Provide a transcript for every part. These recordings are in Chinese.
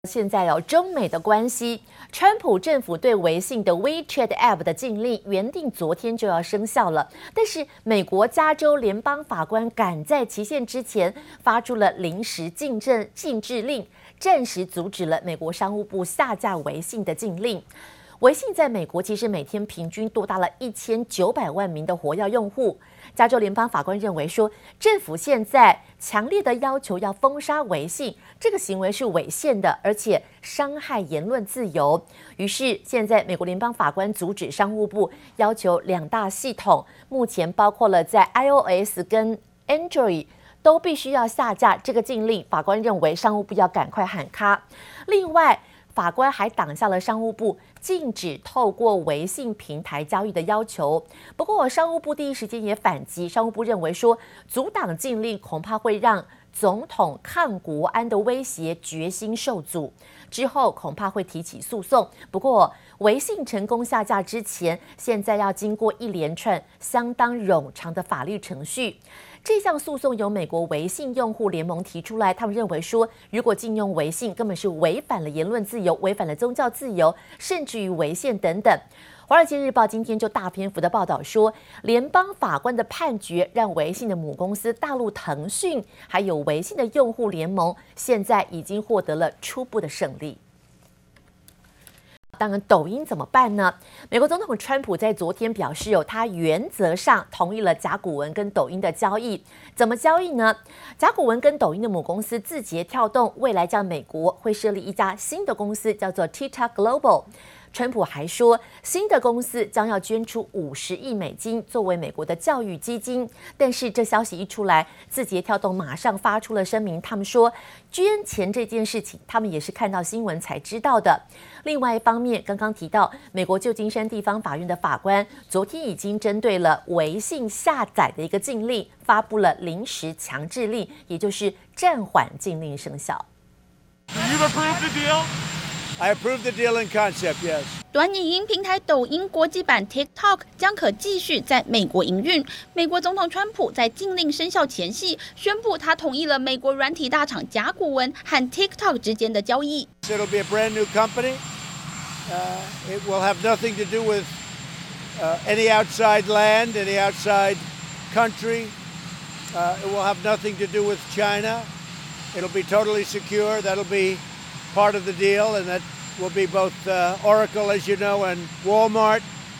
現在中美的關係，川普政府對微信的 WeChat App 的禁令原定昨天就要生效了，但是美國加州聯邦法官趕在期限之前發出了臨時禁制令，暫時阻止了美國商務部下架微信的禁令。微信在美國其實每天平均多達了1900萬名的活躍用戶。加州聯邦法官認為說，政府現在強烈的要求要封殺微信，這個行為是違憲的，而且傷害言論自由。於是現在美國聯邦法官阻止商務部要求兩大系統，目前包括了在 iOS 跟 Android 都必須要下架這個禁令。法官認為商務部要趕快喊卡。另外，法官還擋下了商務部禁止透過微信平台交易的要求。不過，商務部第一時間也反擊。商務部認為說，阻擋禁令恐怕會讓總統抗國安的威脅決心受阻，之後恐怕會提起訴訟。不過，微信成功下架之前，現在要經過一連串相當冗長的法律程序。這項訴訟由美國微信用戶聯盟提出來，他們認為說，如果禁用微信，根本是違反了言論自由，違反了宗教自由，甚至於違憲等等。華爾街日報今天就大篇幅的報道說，聯邦法官的判決讓微信的母公司大陸騰訊，還有微信的用戶聯盟，現在已經獲得了初步的勝利。當然，抖音怎麼辦呢？美國總統川普在昨天表示，他原則上同意了甲骨文跟抖音的交易。怎麼交易呢？甲骨文跟抖音的母公司字節跳動未來在美國會設立一家新的公司，叫做 TikTok Global。川普還說，新的公司將要捐出50億美金作為美國的教育基金。但是這消息一出來，字節跳動馬上發出了聲明，他們說捐錢這件事情，他們也是看到新聞才知道的。另外一方面，剛剛提到美國舊金山地方法院的法官昨天已經針對了微信下載的一個禁令，發布了臨時強制令，也就是暫緩禁令生效。 I approve the deal in concept, yes. 短影音平台抖音國際版 TikTok 將可繼續在美國營運。美國總統川普在禁令生效前夕宣布，他同意了美國軟體大廠甲骨文和 TikTok 之間的交易。 It'll be a brand new company. It will have nothing to do with any outside land, any outside country. It will have nothing to do with China. It'll be totally secure. That'll be part of the deal, and that will be both Oracle, as you know, and Walmart.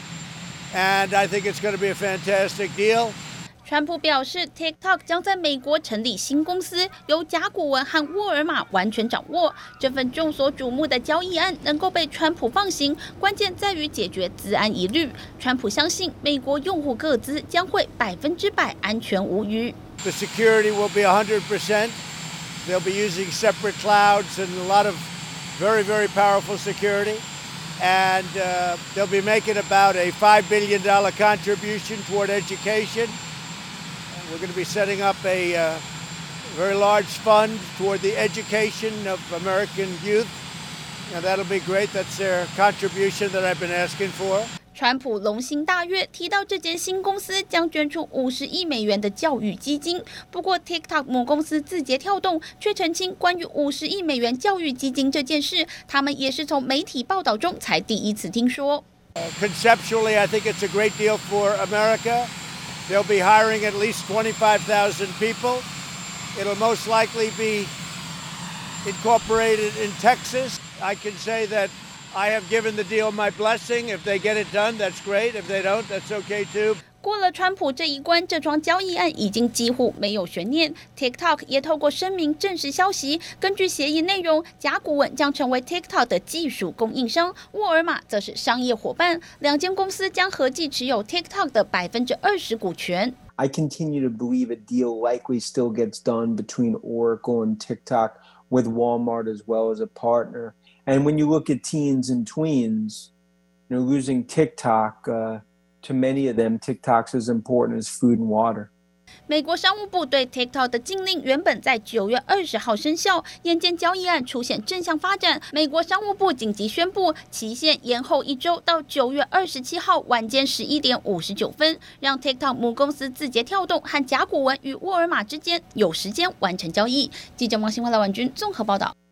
And I think it's going to be a fantastic deal. 川普表示 ，TikTok 将在美國成立新公司，由甲骨文和沃爾瑪完全掌握。這份眾所矚目的交易案能夠被川普放行，關鍵在於解決資安疑慮。川普相信，美國用戶個資將會100%安全無虞。 The security will be 100%. They'll be using separate clouds and a lot of very, very powerful security. And they'll be making about a $5 billion contribution toward education. We're going to be setting up a very large fund toward the education of American youth. And that'll be great. That's their contribution that I've been asking for. 川普龍心大悅，提到這間新公司將捐出50億美元的教育基金。不過 ，TikTok 母公司字節跳動卻澄清，關於50億美元教育基金這件事，他們也是從媒體報道中才第一次聽說。 Conceptually, I think it's a great deal for America. They'll be hiring at least 25,000 people. It'll most likely be incorporated in Texas. I can say that I have given the deal my blessing. If they get it done, that's great. If they don't, that's okay too. 過了川普這一關，這樁交易案已經幾乎沒有懸念。TikTok 也透過聲明證實消息。根據協議內容，甲骨文將成為 TikTok 的技術供應商，沃爾瑪則是商業夥伴。兩間公司將合計持有 TikTok 的20%股權。 I continue to believe a deal likely still gets done between Oracle and TikTok, with Walmart as well as a partner. And when you look at teens and tweens, losing TikTok, to many of them, TikTok's as important as food and water. 美國商務部對 TikTok 的禁令原本在9月20號生效，眼見交易案出現正向發展，美國商務部緊急宣布期限延後1週到9月27號晚間11點59分，讓 TikTok 母公司字節跳動和甲骨文與沃爾瑪之間有時間完成交易。記者王新華、賴婉君綜合報道。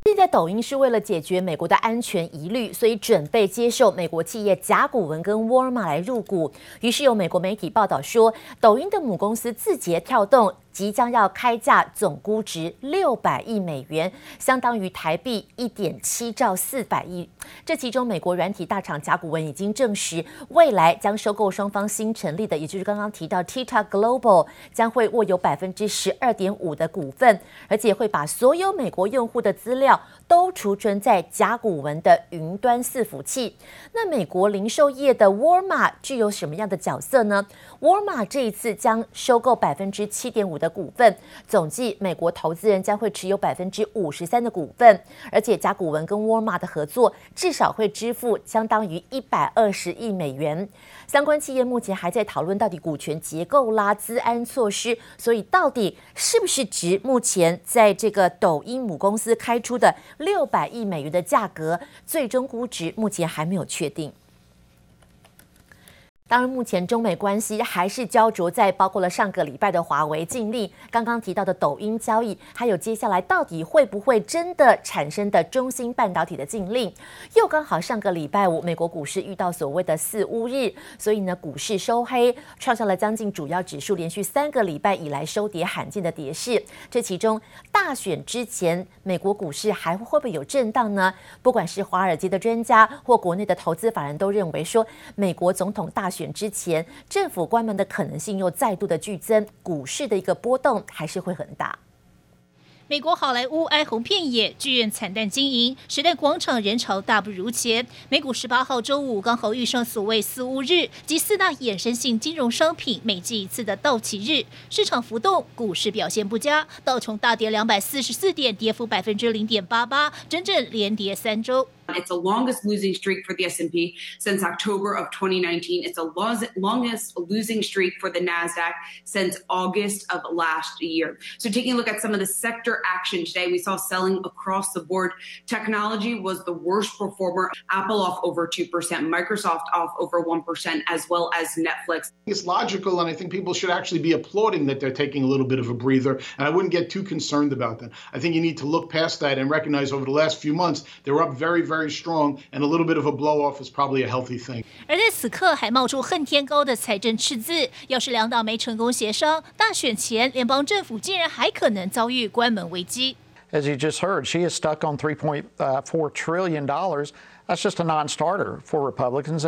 現在抖音是為了解決美國的安全疑慮，所以準備接受美國企業甲骨文跟沃爾瑪來入股。於是有美國媒體報道說，抖音的母公司字節跳動即將要開價，總估值600億美元，相當於台幣1.7兆400億。這其中，美國軟體大廠甲骨文已經證實，未來將收購雙方新成立的，也就是剛剛提到 TikTok Global， 將會握有12.5%的股份，而且會把所有美國用戶的資料都儲存在甲骨文的雲端伺服器。那美國零售業的沃爾瑪具有什麼樣的角色呢？沃爾瑪這一次將收購7.5%的股份，總計美國投資人將會持有53%的股份，而且甲骨文跟沃爾瑪的合作至少會支付相當於120億美元。相關企業目前還在討論到底股權結構啦、資安措施，所以到底是不是值目前在這個抖音母公司開出的600億美元的價格，最終估值目前還沒有確定。當然，目前中美關係還是焦灼在包括了上個禮拜的華為禁令，剛剛提到的抖音交易，還有接下來到底會不會真的產生的中芯半導體的禁令。又剛好上個禮拜五，美國股市遇到所謂的四烏日，所以呢，股市收黑，創下了將近主要指數連續3個禮拜以來收跌罕見的跌勢。這其中大選之前，美國股市還會不會有震盪呢？不管是華爾街的專家或國內的投資法人都認為說，美國總統大選之前，政府關門的可能性又再度的劇增，股市的一個波動還是會很大。 美國好萊塢哀鴻遍野，劇院慘淡經營，時代廣場人潮大不如前。美股18號週五剛好遇上所謂四烏日及4大衍生性金融商品每季一次的到期日，市場浮動，股市表現不佳，道瓊大跌244點，跌幅0.88%，整整連跌3週。 It's the longest losing streak for the S&P since October of 2019. It's the longest losing streak for the NASDAQ since August of last year. So taking a look at some of the sector action today, we saw selling across the board. Technology was the worst performer. Apple off over 2%, Microsoft off over 1%, as well as Netflix. It's logical, and I think people should actually be applauding that they're taking a little bit of a breather, and I wouldn't get too concerned about that. I think you need to look past that and recognize over the last few months, they were up very strong, and a little bit of a blow-off is probably a healthy thing. 而在此刻還冒出恨天高的財政赤字，要是兩黨沒成功協商，大選前聯邦政府竟然還可能遭遇關門危機。 As you just heard, she is stuck on $3.4 trillion. That's just a non-starter for Republicans,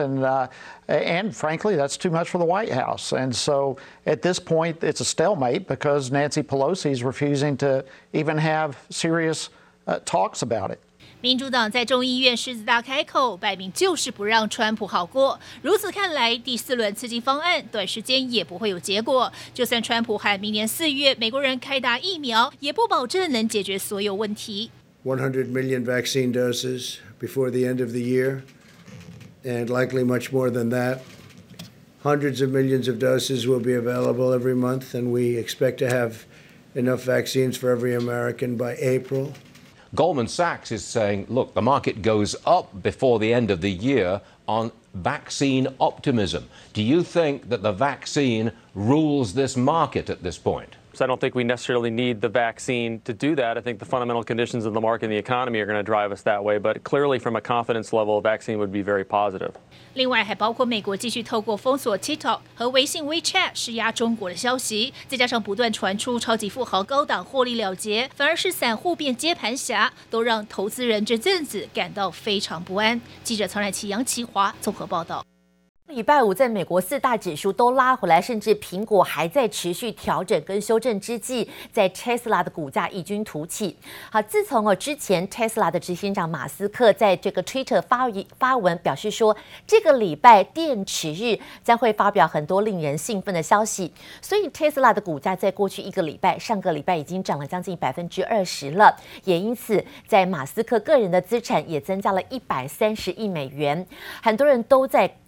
and frankly, that's too much for the White House. And so at this point, it's a stalemate because Nancy Pelosi is refusing to even have serious talks about it. 民主黨在眾議院獅子大開口，擺明就是不讓川普好過。如此看來，第4輪刺激方案短時間也不會有結果。就算川普喊明年4月美國人開打疫苗，也不保證能解決所有問題。 100 million vaccine doses before the end of the year, and likely much more than that. Hundreds of millions of doses will be available every month, and we expect to have enough vaccines for every American by April. Goldman Sachs is saying, look, the market goes up before the end of the year on vaccine optimism. Do you think that the vaccine rules this market at this point? So I don't think we necessarily need the vaccine to do that. I think the fundamental conditions of the market and the economy are going to drive us that way. But clearly, from a confidence level, a vaccine would be very positive. 另外，還包括美國繼續透過封鎖 TikTok 和微信 WeChat 施壓中國的消息，再加上不斷傳出超級富豪高檔獲利了結，反而是散戶變接盤俠，都讓投資人這陣子感到非常不安。記者曹乃琪、楊奇華綜合報道。 禮拜五，在美國4大指數都拉回來，甚至蘋果還在持續調整跟修正之際，在 Tesla 的股價異軍突起。好，自從之前 Tesla 的執行長馬斯克在這個 Twitter 發文表示說，這個禮拜電池日將會發表很多令人興奮的消息，所以 Tesla 的股價在過去1個禮拜，上個禮拜已經漲了將近20%了，也因此在馬斯克個人的資產也增加了130億美元，很多人都在高度的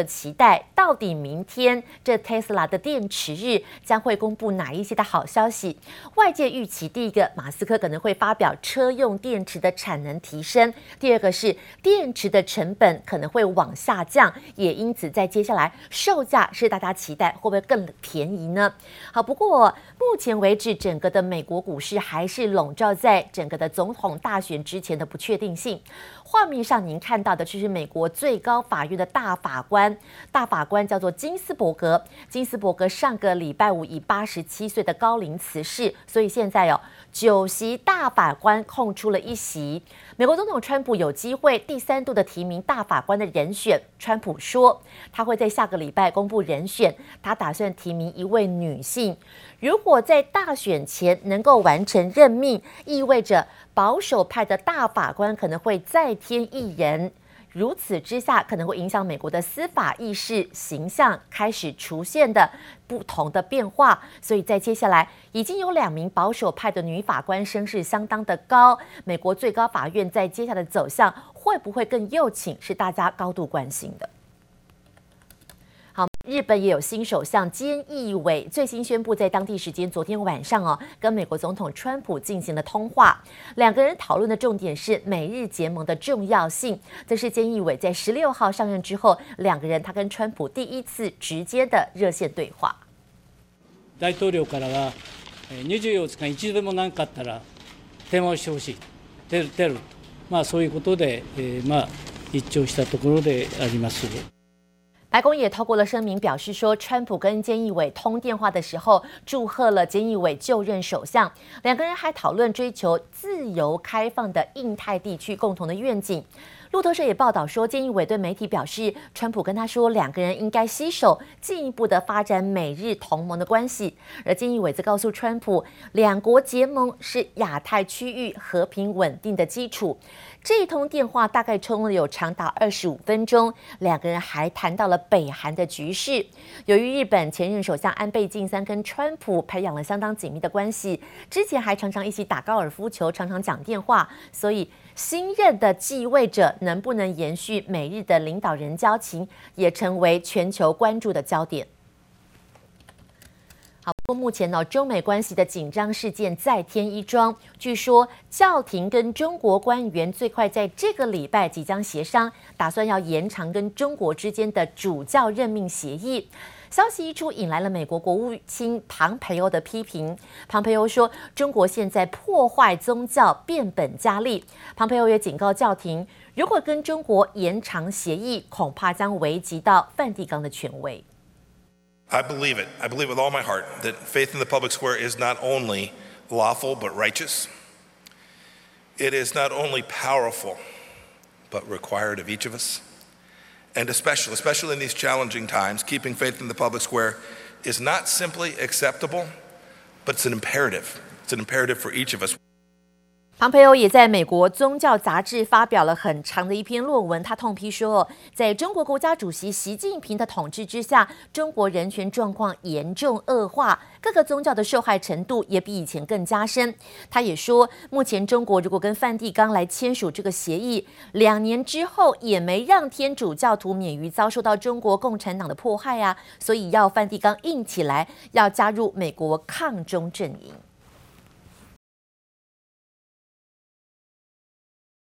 期待，到底明天這 Tesla 的電池日將會公布哪一些的好消息？外界預期，第一個，馬斯克可能會發表車用電池的產能提升；第二個是電池的成本可能會往下降，也因此在接下來售價是大家期待會不會更便宜呢？好，不過目前為止，整個的美國股市還是籠罩在整個的總統大選之前的不確定性。畫面上您看到的就是美國最高法院的大法官叫做金斯伯格。金斯伯格上個禮拜五以87歲的高齡辭世，所以現在9席大法官空出了1席。美國總統川普有機會第3度的提名大法官的人選。川普說他會在下個禮拜公布人選，他打算提名一位女性。如果在大選前能夠完成任命，意味着保守派的大法官可能會再添1人。如此之下，可能會影響美國的司法意識形象開始出現的不同的變化。所以在接下來，已經有2名保守派的女法官聲勢相當的高。美國最高法院在接下來的走向會不會更右傾，是大家高度關心的。好，日本也有新首相菅義偉最新宣布，在當地時間昨天晚上跟美國總統川普進行了通話。2個人討論的重點是美日結盟的重要性。這是菅義偉在16號上任之後，2個人他跟川普第一次直接的熱線對話。 大統領からは24日間一度でも何かあったら電話をしてほしい、出る、そういうことで一致したところであります。 白宮也透過了聲明表示說，川普跟菅義偉通電話的時候，祝賀了菅義偉就任首相。2個人還討論追求自由開放的印太地區共同的願景。路透社也報道說，菅義偉對媒體表示，川普跟他說，2個人應該攜手進一步的發展美日同盟的關係。而菅義偉則告訴川普，2國結盟是亞太區域和平穩定的基礎。這一通電話大概充了有長達25分鐘，2個人還談到了北韓的局勢。由於日本前任首相安倍晉三跟川普培養了相當緊密的關係，之前還常常一起打高爾夫球，常常講電話，所以新任的繼位者能不能延續美日的領導人交情，也成為全球關注的焦點。好，不過目前中美關係的緊張事件再添一樁。據說教廷跟中國官員最快在這個禮拜即將協商，打算要延長跟中國之間的主教任命協議。消息一出，引來了美國國務卿龐培歐的批評。龐培歐說，中國現在破壞宗教變本加厲。龐培歐也警告教廷，如果跟中國延長協議，恐怕將危及到梵蒂岡的權威。 I believe it. I believe with all my heart that faith in the public square is not only lawful but righteous. It is not only powerful but required of each of us. And especially in these challenging times, keeping faith in the public square is not simply acceptable, but it's an imperative. It's an imperative for each of us. 龐培歐也在美國宗教雜誌發表了很長的一篇論文，他痛批說，在中國國家主席習近平的統治之下，中國人權狀況嚴重惡化，各個宗教的受害程度也比以前更加深。他也說，目前中國如果跟梵蒂岡來簽署這個協議，2年之後也沒讓天主教徒免於遭受到中國共產黨的迫害啊，所以要梵蒂岡硬起來，要加入美國抗中陣營。